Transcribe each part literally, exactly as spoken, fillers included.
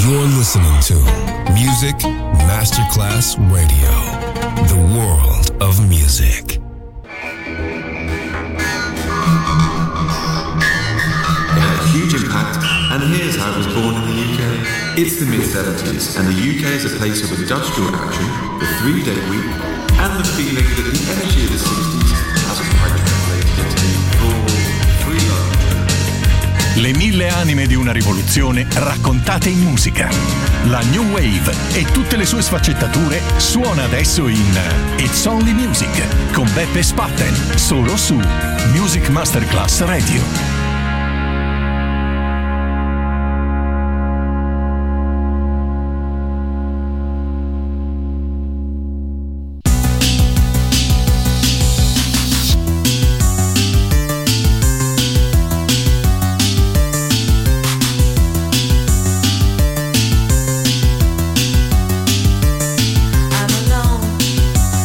You're listening to Music Masterclass Radio, the world of music. It had a huge impact, and here's how it was born in the U K. It's the mid seventies, and the U K is a place of industrial action, the three-day week, and the feeling that the energy of the sixties hasn't quite translated into the raw, free love. Le mille anime di una rivoluzione raccontate in musica. La New Wave e tutte le sue sfaccettature suona adesso in It's Only Music con Beppe Spatten, solo su Music Masterclass Radio.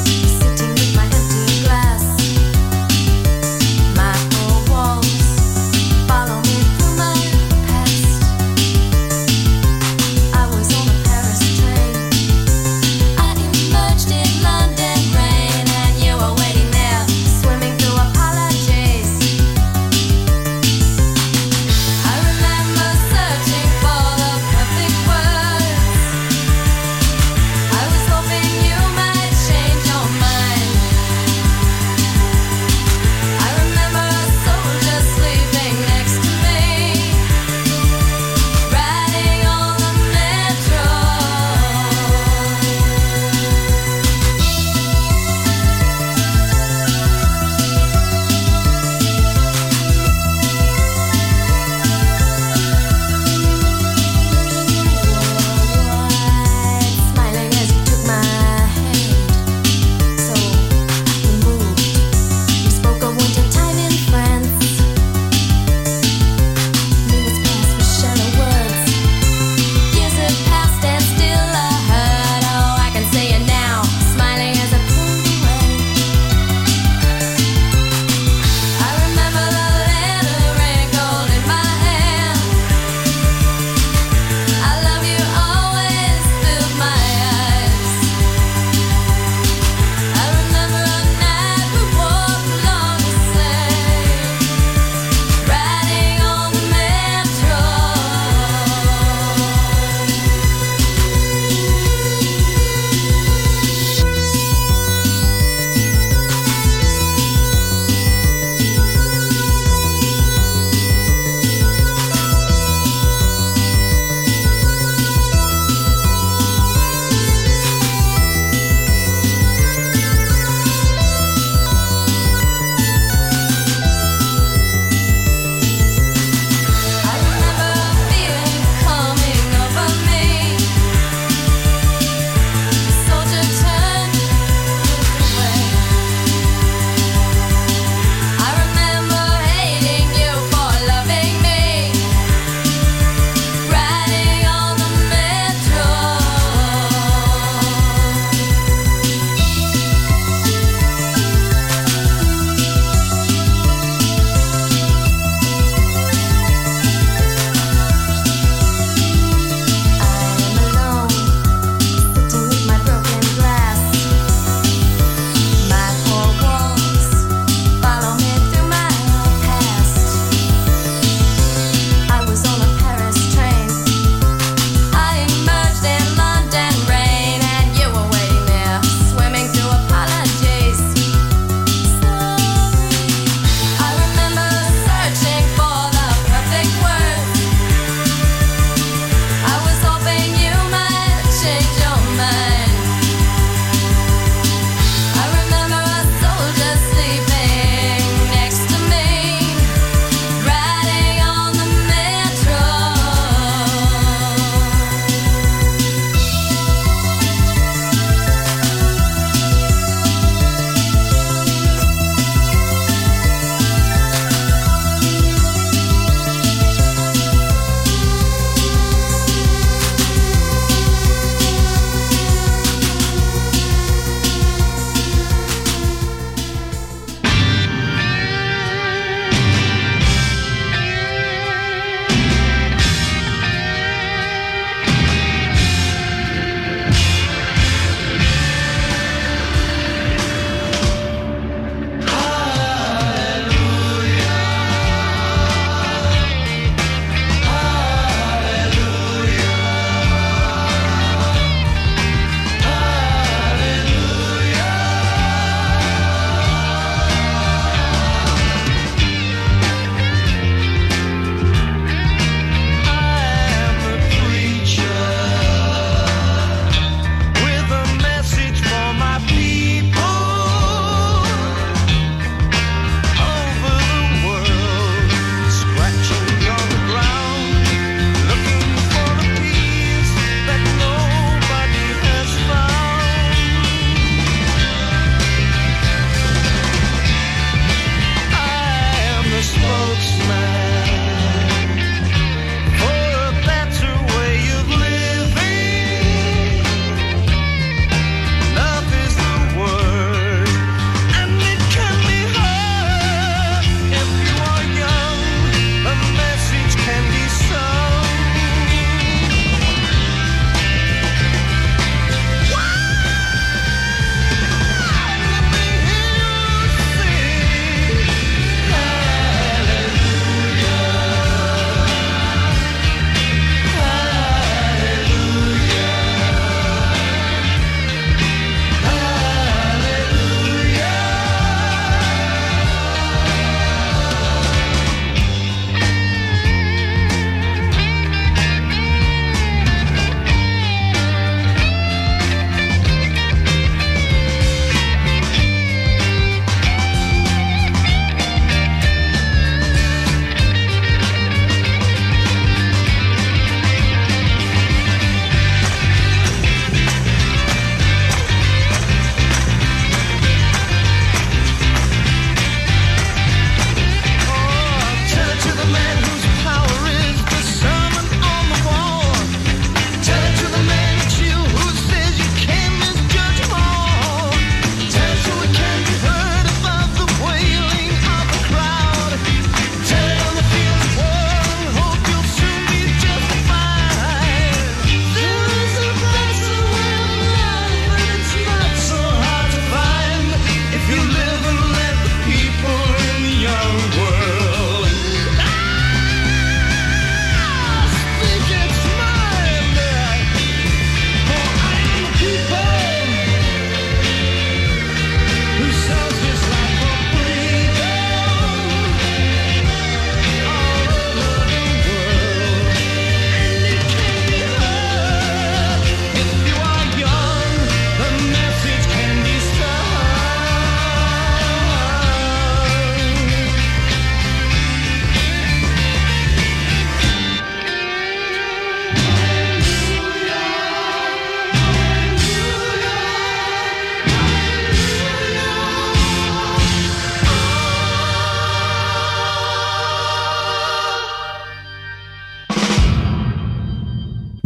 Sitting with my empty glass, my four walls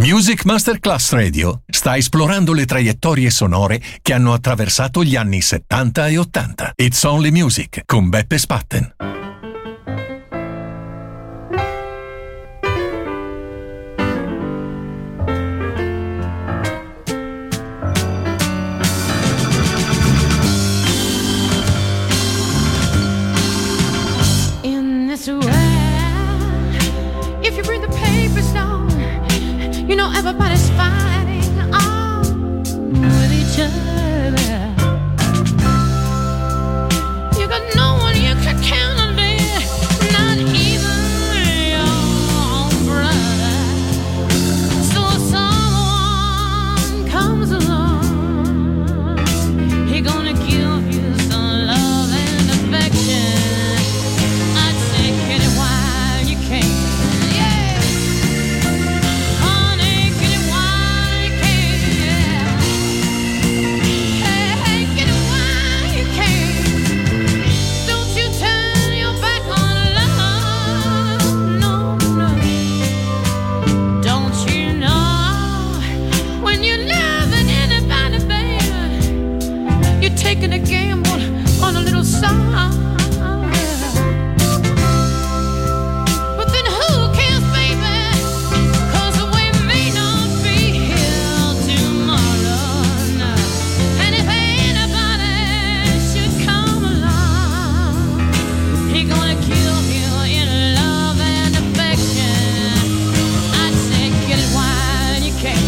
Music Masterclass Radio sta esplorando le traiettorie sonore che hanno attraversato gli anni settanta e ottanta. It's Only Music con Beppe Spatten. In this world, if you bring the papers down, you know everybody's fighting on with each other. You got no one you can count on there, not even your own brother. So someone comes along, he gonna give you some love and affection. I'd say get it while you can. Taking a gamble on a little song. But then who cares, baby? 'Cause we may not be here tomorrow. No. And if anybody should come along, he gonna kill you in love and affection. I'd say get it while you can.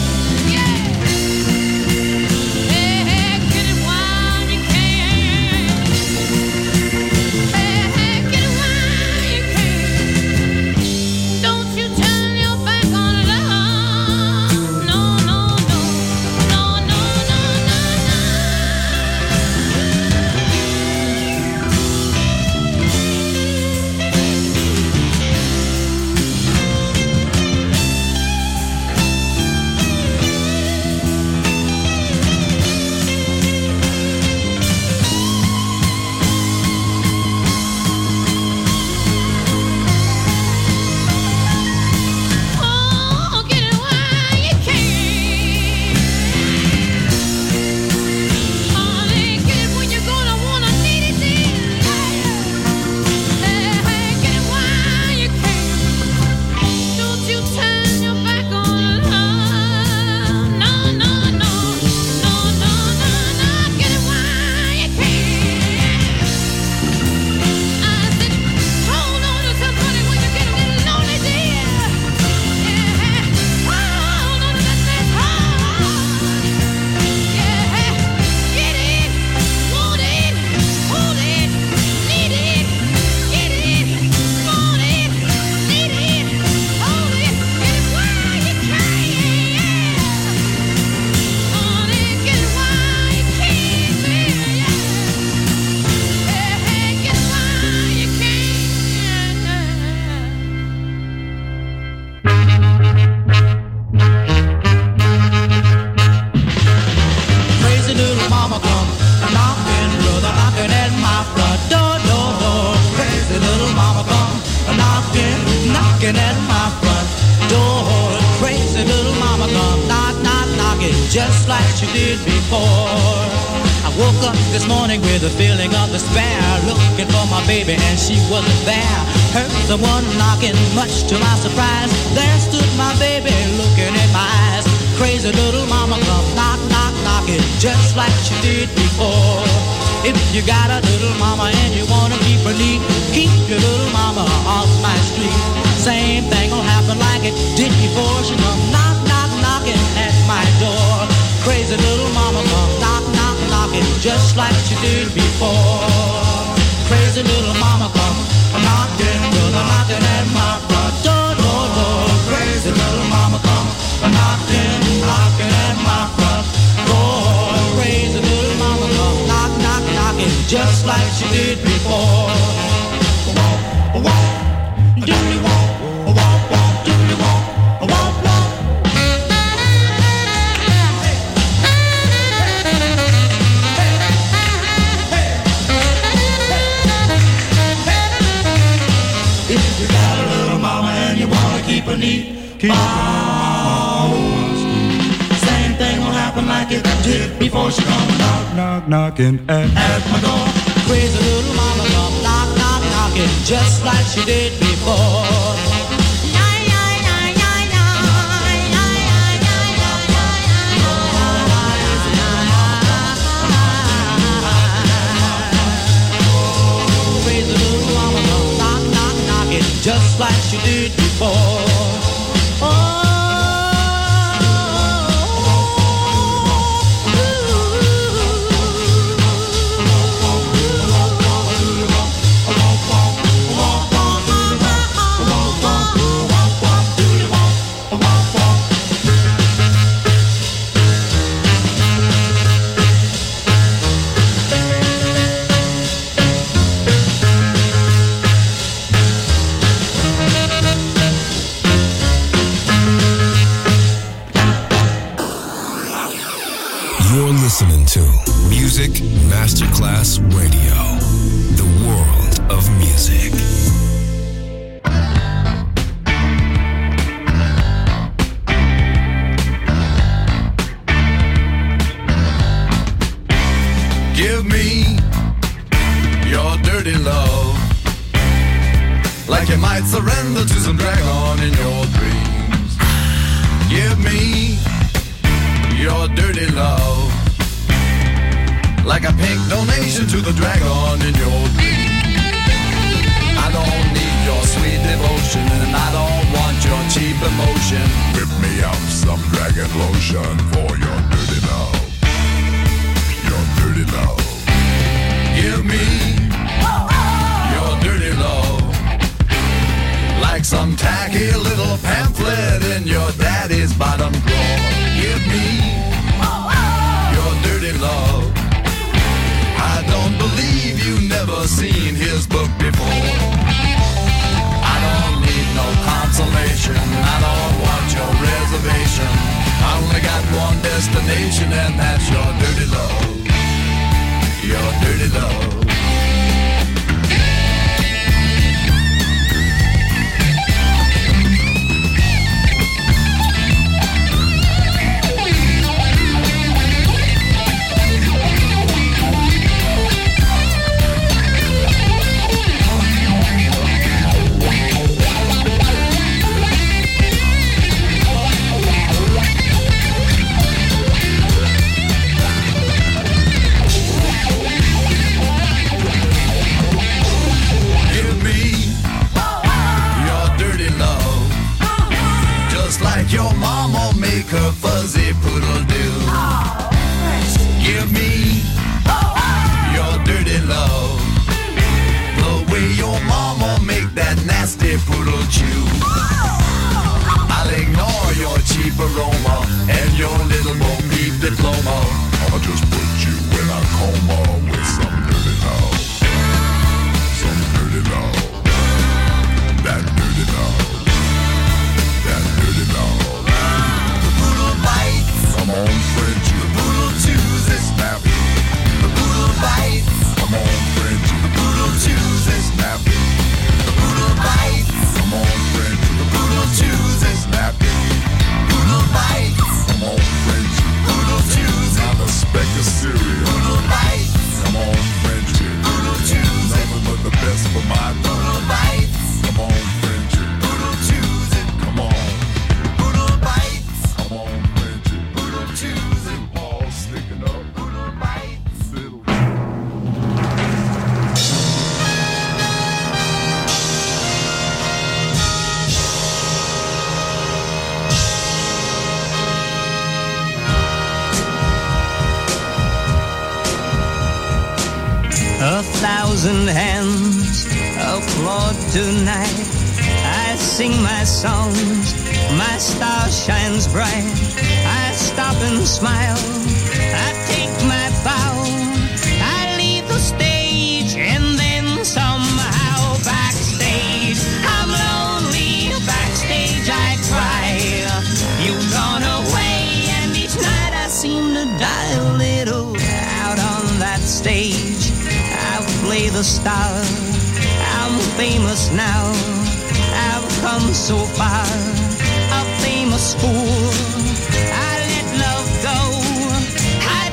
Just like she did before. I woke up this morning with a feeling of despair, looking for my baby and she wasn't there. Heard someone knocking, much to my surprise. There stood my baby looking in my eyes. Crazy little mama come knock, knock, knocking, just like she did before. If you got a little mama and you wanna keep her neat, keep your little mama off my street. Same thing will happen like it did before. She come knock, knock, knocking at my door. Crazy little mama come knock, knock, knocking, just like she did before. Crazy little mama come knocking, brother knocking at my front door, door, door. Crazy little mama come knocking, knocking at my front door. Crazy little mama come knock, knock, knocking, just like she did before. Walk, walk, do me walk, walk, walk, do me walk, walk, walk. If you got a little mama and you wanna keep her neat, keep her neat. did before she come knock, knock, knocking at, at my door. Crazy little mama come knock, knock, knocking just like she did before. Crazy little mama come knock, knock, knocking just like she did before. Listening to Music Masterclass Radio, the world of music. Give me your dirty love, like you might surrender to some dragon in your dreams. Give me your dirty love, like a pink donation to the dragon in your dream. I don't need your sweet devotion, and I don't want your cheap emotion. Whip me up some dragon lotion for your dirty love. Your dirty love. Give me your dirty love, like some tacky little pamphlet in your daddy's bottom drawer. Give me your dirty love. I don't believe you've never seen his book before. I don't need no consolation, I don't want your reservation. I only got one destination, and that's your dirty love. Your dirty love. Your mama make her fuzzy poodle do. Give me your dirty love, the way your mama make that nasty poodle chew. I'll ignore your cheap aroma and your little Bo Peep diploma. I'll just put you in a coma with some dirty love. Some dirty love. That dirty love. That dirty love. The poodle bites. Come on, Frenchie. The poodle chews it. Snap it. The poodle bites. Come on, Frenchie. The poodle chews it. Snap it. The poodle bites. Come on, Frenchie. The poodle chews it. Snap it. Poodle bites. Come on, Frenchie. Poodle chews it. Not a speck of cereal. Poodle bites. Come on, Frenchie. Poodle chews it. Nothing but the best for my dog. Poodle bites. Come on, Frenchie. Poodle chews it. Come on. Poodle bites. Come on, Frenchie. Poodle chews it. All sticking up. Poodle bites. Little. A thousand hands applaud tonight. I sing my songs, my star shines bright. I stop and smile, I take my bow. I leave the stage and then somehow backstage I'm lonely, backstage I cry. You've gone away and each night I seem to die a little. Out on that stage I play the star. I'm famous now, I've come so far. A famous fool, I let love go, I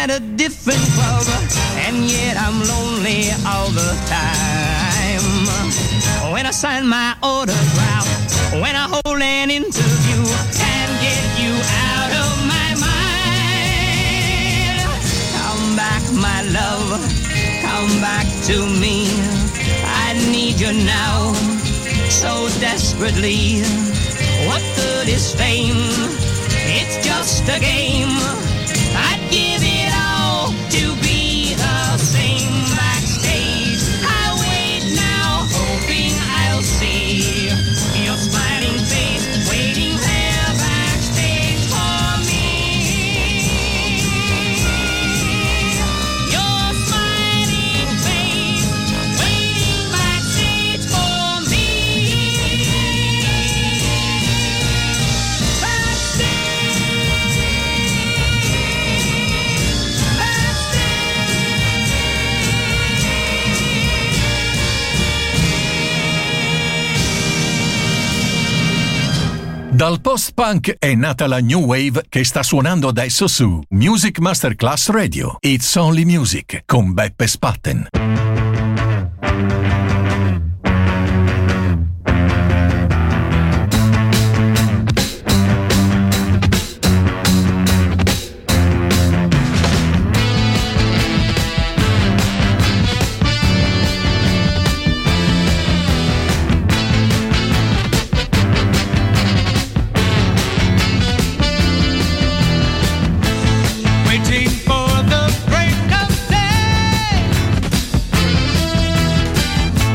at a different club, and yet I'm lonely all the time. When I sign my autograph, when I hold an interview, can't get you out of my mind. Come back, my love, come back to me. I need you now, so desperately. What good is fame? It's just a game. I'd give it all to be the same backstage. I wait now, hoping I'll see your smiling face waiting there backstage for me. Your smiling face waiting backstage for me. Dal post-punk è nata la New Wave che sta suonando adesso su Music Masterclass Radio. It's Only Music con Beppe Spatten. Waiting for the break of day.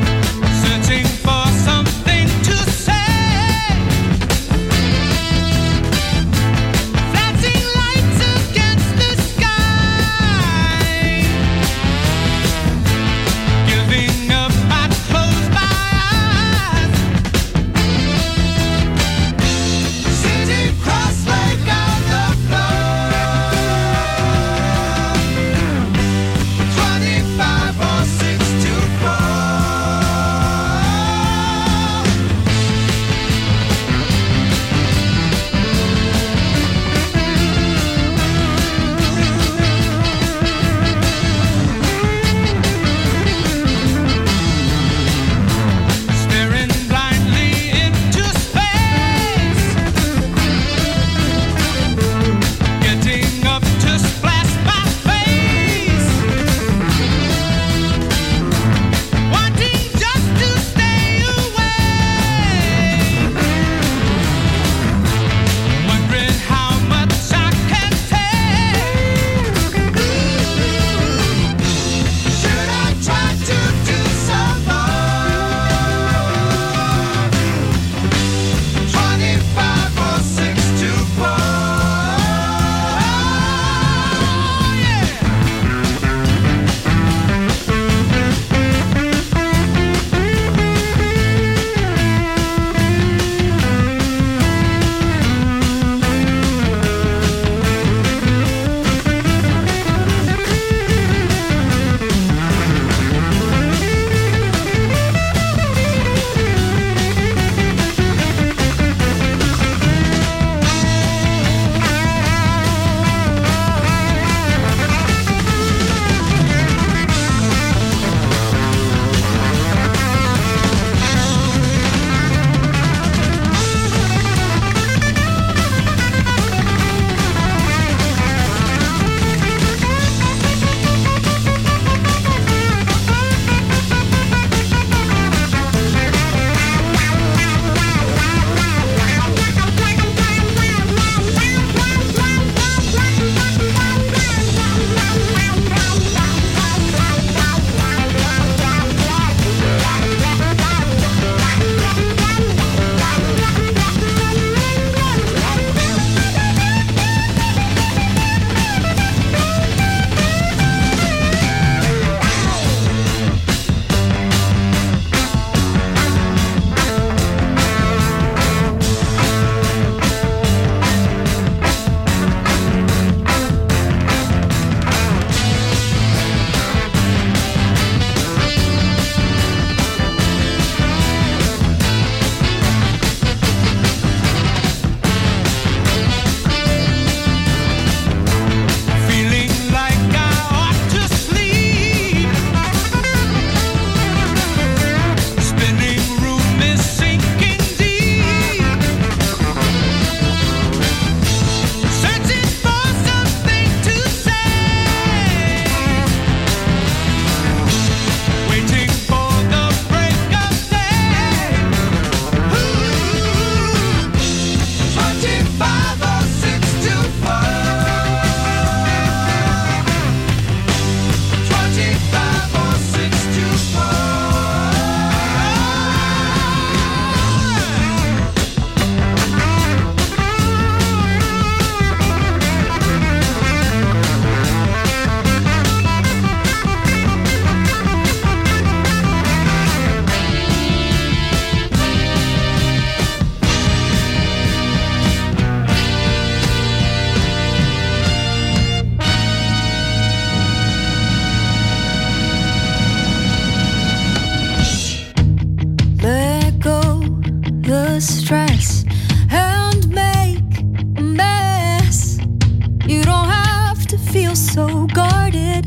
the stress and make a mess. You don't have to feel so guarded.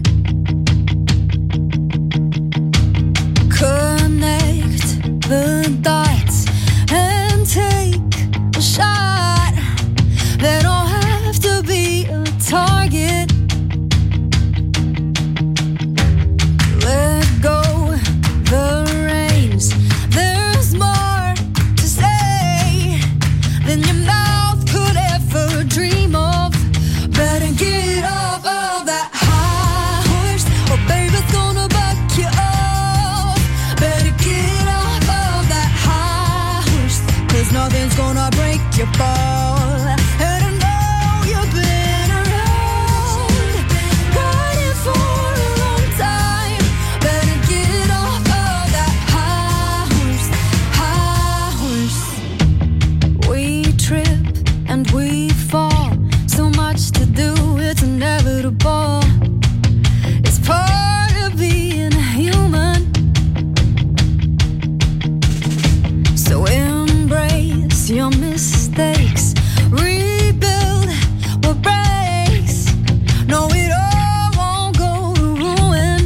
Connect the dots and take a shot. They don't have to be a target. Let go the reins. There's more to say than your mouth could ever dream of. Better get off of that high horse, or baby's gonna buck you off. Better get off of that high horse, 'cause nothing's gonna break your fall. And I know you've been around, riding for a long time. Better get off of that high horse, high horse. We trip and we fall, so much to do, it's inevitable. It's part of being human. So embrace your mistakes, rebuild what breaks. No, it all won't go to ruin.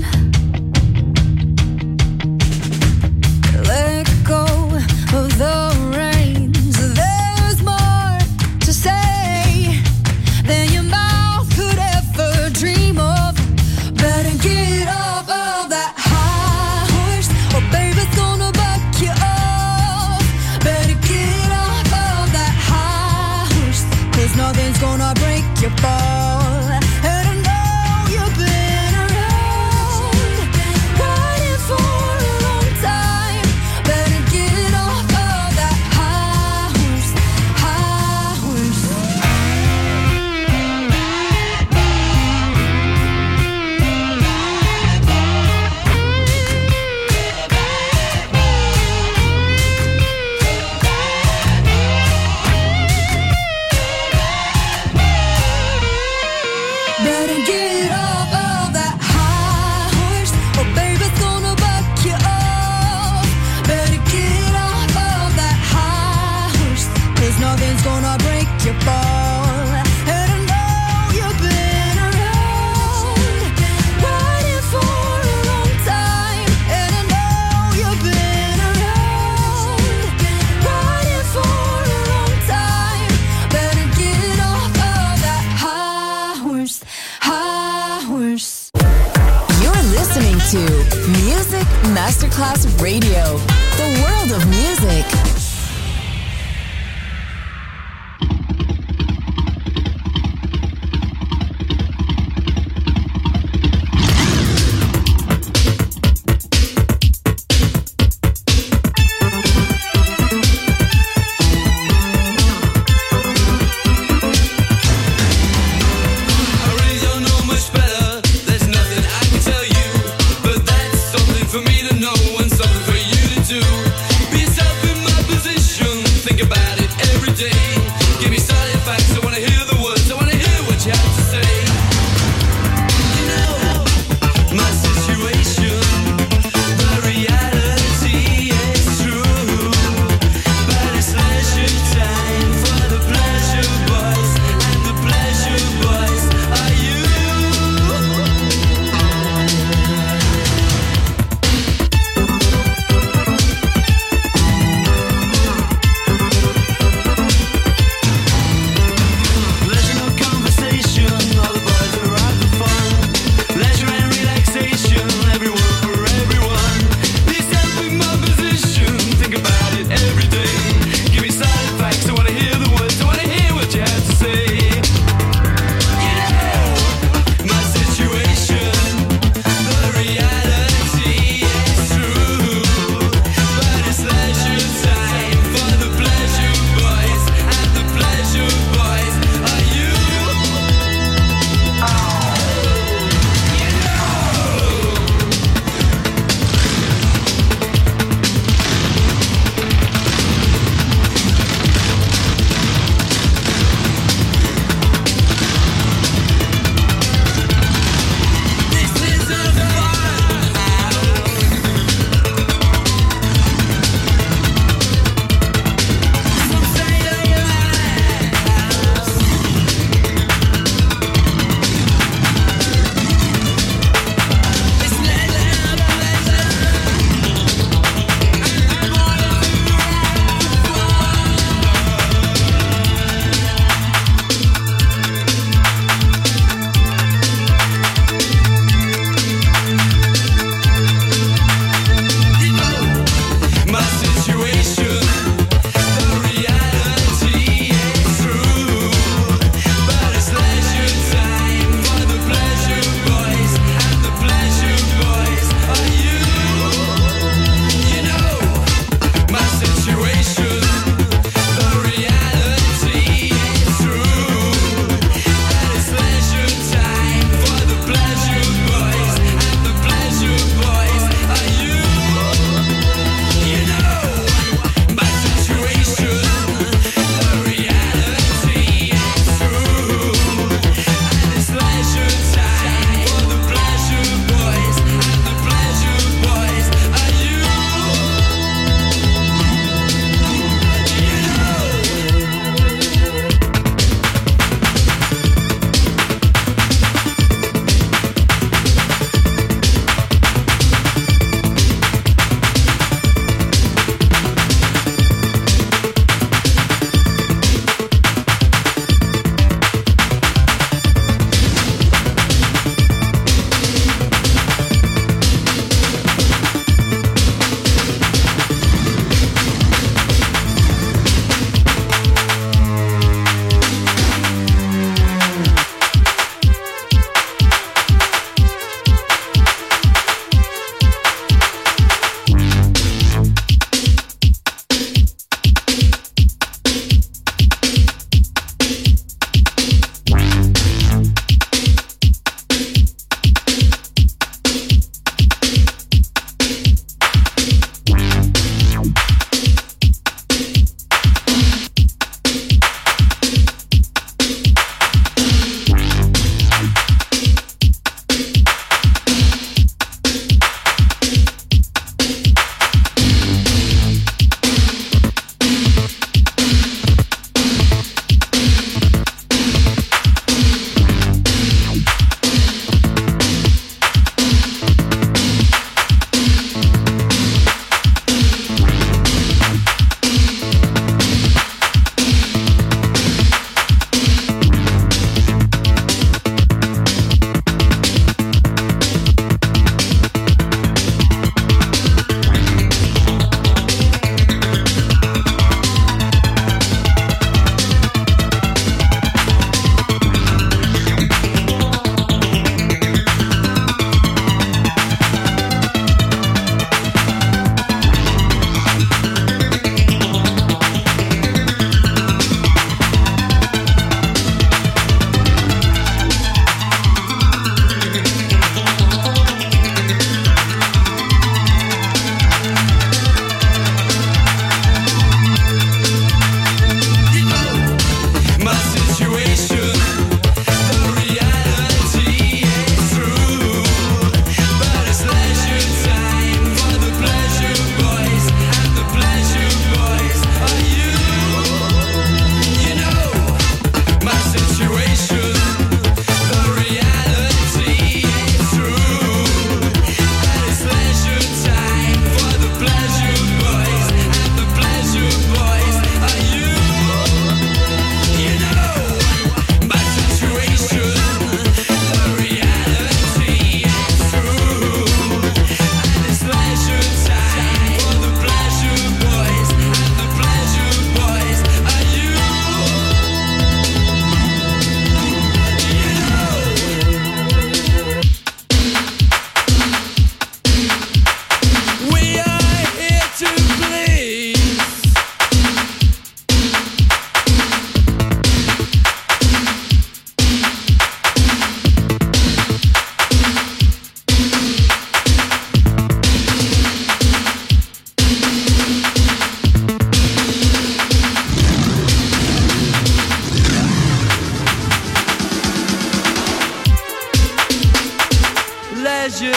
Let go of the reins. There's more to say than your mouth could ever dream of. Better get off of that high horse, or baby's gonna buck you off. Better get off of that high horse, 'cause nothing's gonna break your fall. And I know you've been around, riding for a long time. Better get off of that high horse, high horse. Better get off of that high horse, or baby's gonna buck you off. Better get off of that high horse, 'cause nothing's gonna break your fall. And I know you've been around, riding for a long time. And I know you've been around, riding for a long time. Better get off of that high horse, high horse. You're listening to Music Masterclass Radio, the world of music. I really don't know much better. There's nothing I can tell you, but that's something for me to know and something for you to do. Be yourself in my position.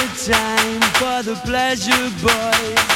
time for the pleasure boys.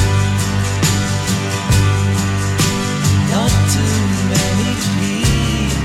Not too many people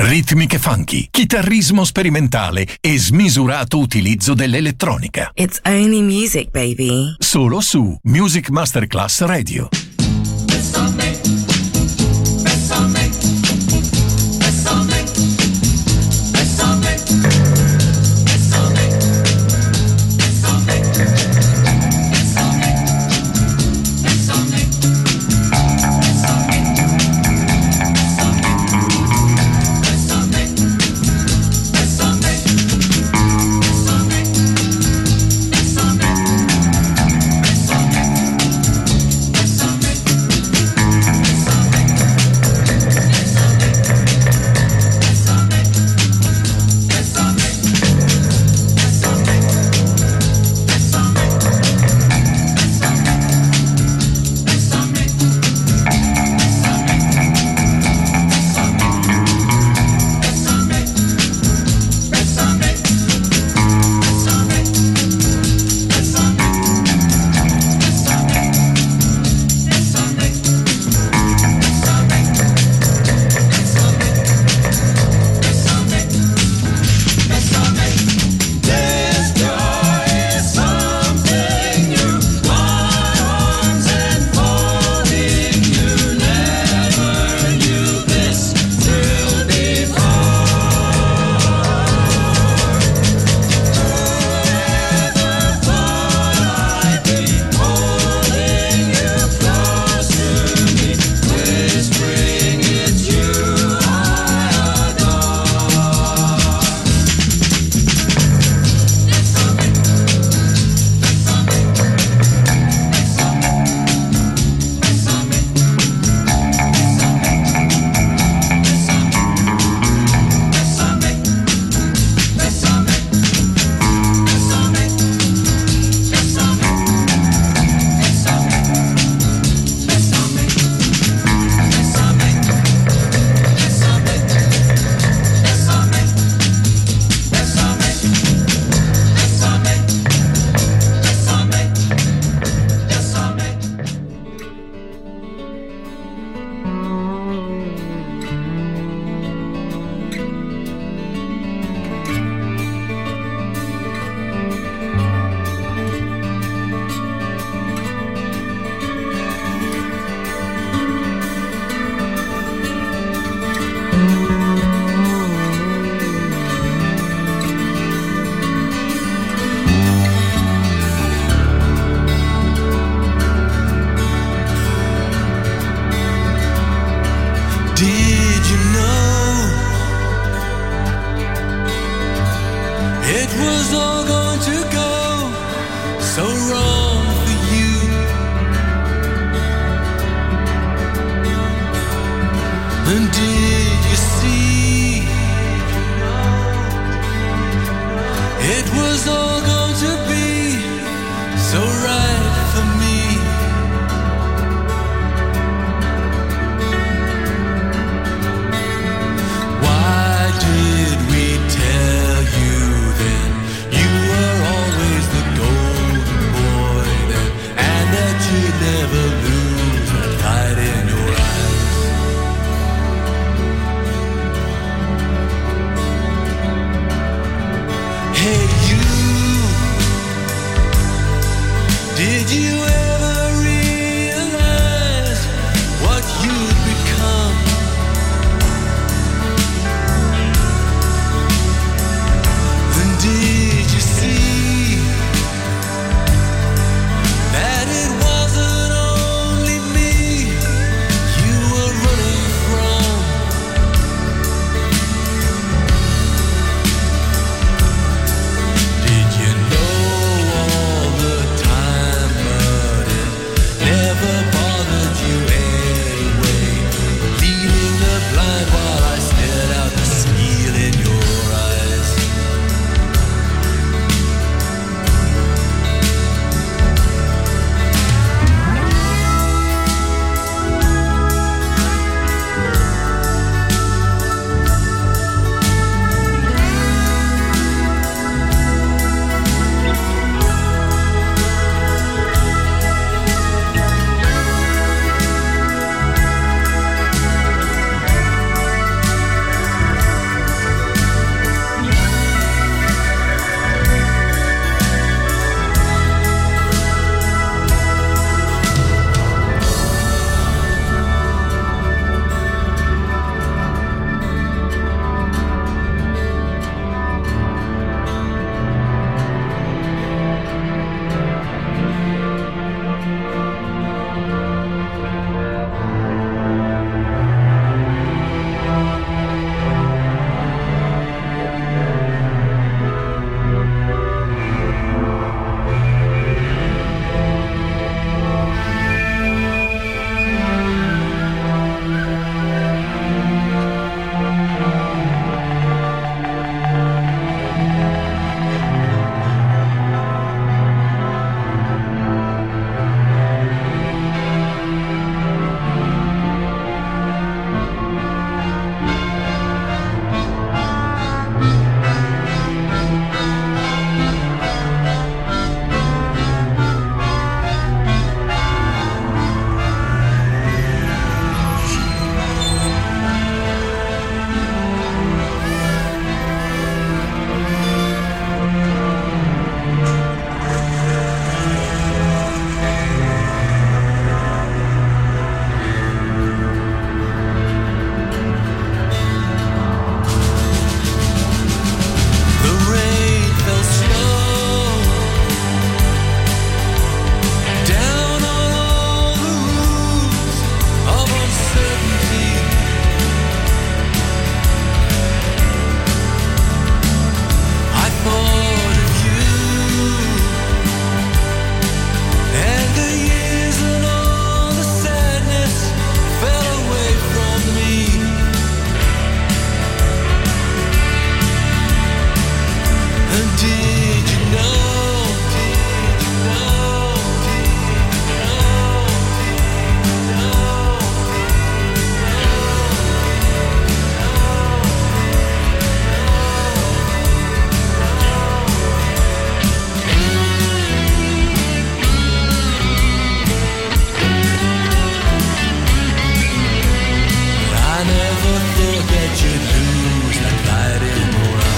ritmiche funky, chitarrismo sperimentale e smisurato utilizzo dell'elettronica. It's only music, baby. Solo su Music Masterclass Radio. Hey, you. foto that you lose that light in your eyes.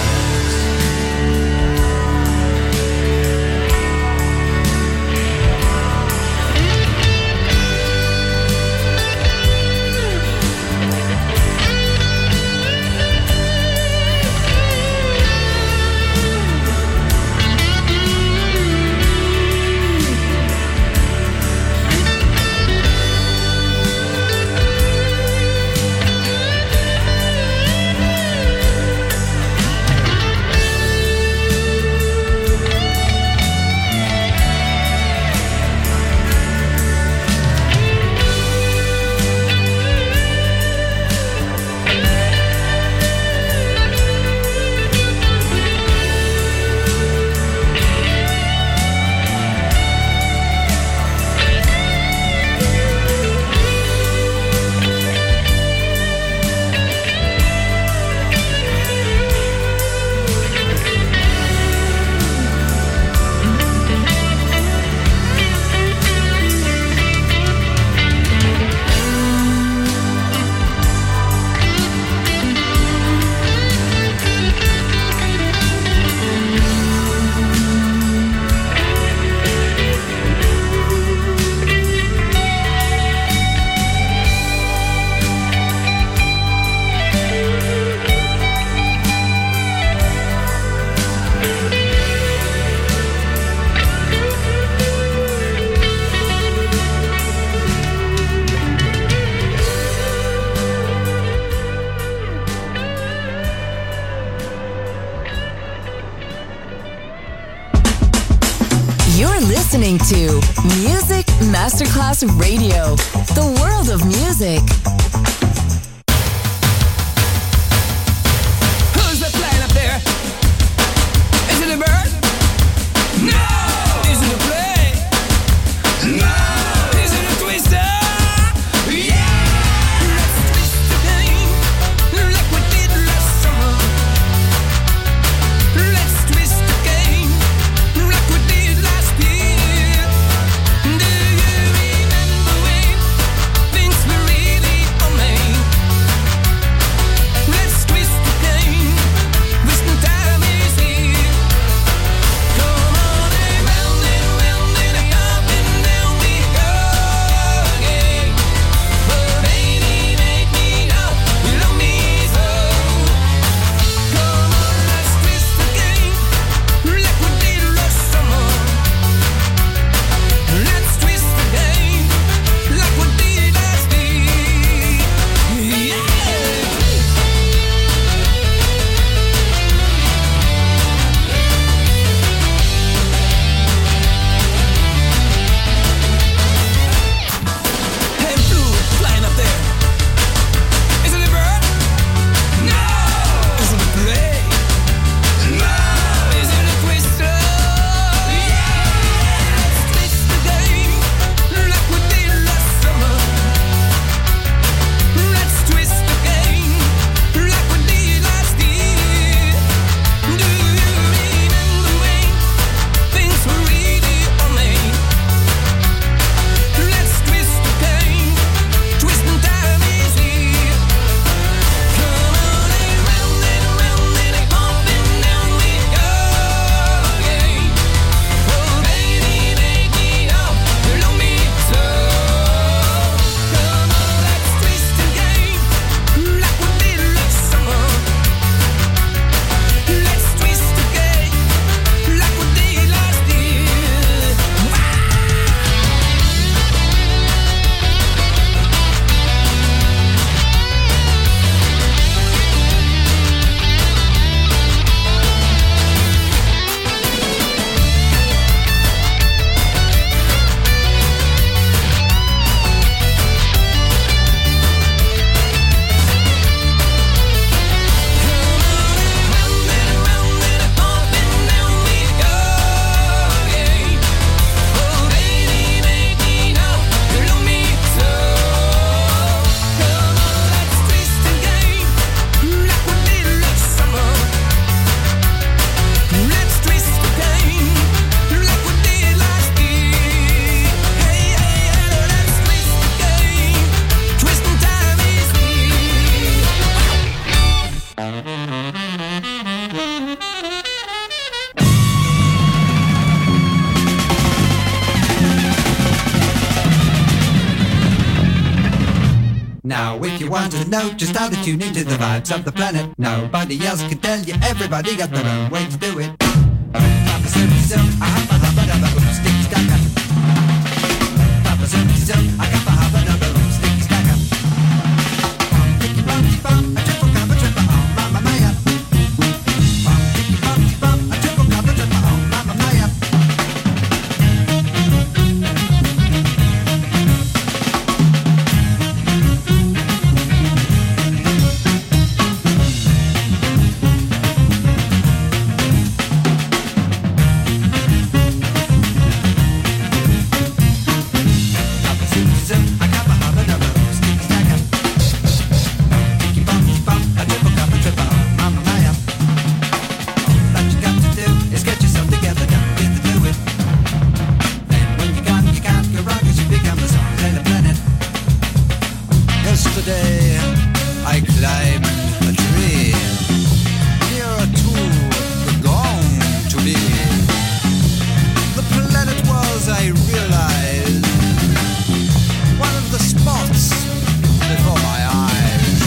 Listening to Music Masterclass Radio, the world of music. Who's that flying up there? Is it a bird? No! Is it a plane? No! Is it a twister? Yeah! Let's twist again, like we did last summer. Let's twist again, like we did last year. Do you remember when things were really know just how to tune into the vibes of the planet. Nobody else can tell you, everybody got their own way to do it. Papa Zoom Zoom, I have a habba dabba boom, sticky stacker. Papa Zoom Zoom, I got a habba dabba boom, sticky stacker. Ticky bumpty bump, a triple cup, a triple, oh mamma mia. Ticky bumpty bump, a triple cup, a triple, oh mamma mia. Yesterday I climbed a tree nearer to the gong to be. The planet was, I realized, one of the spots before my eyes.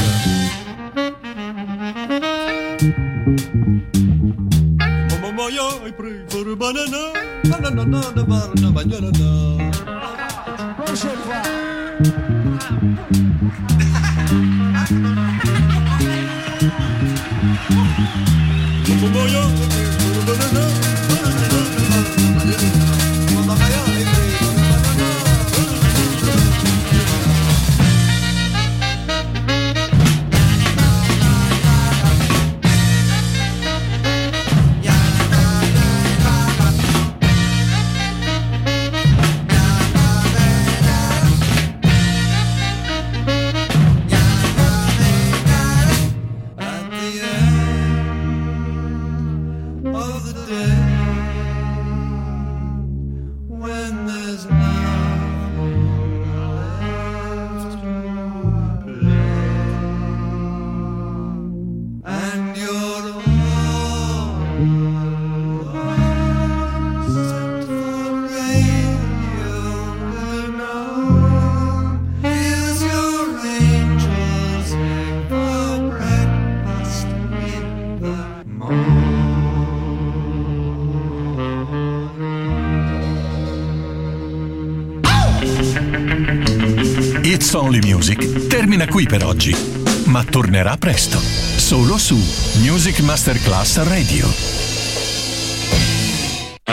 Mama, I pray for a banana, banana, banana, banana, banana. It's Only Music termina qui per oggi, ma tornerà presto, solo su Music Masterclass Radio.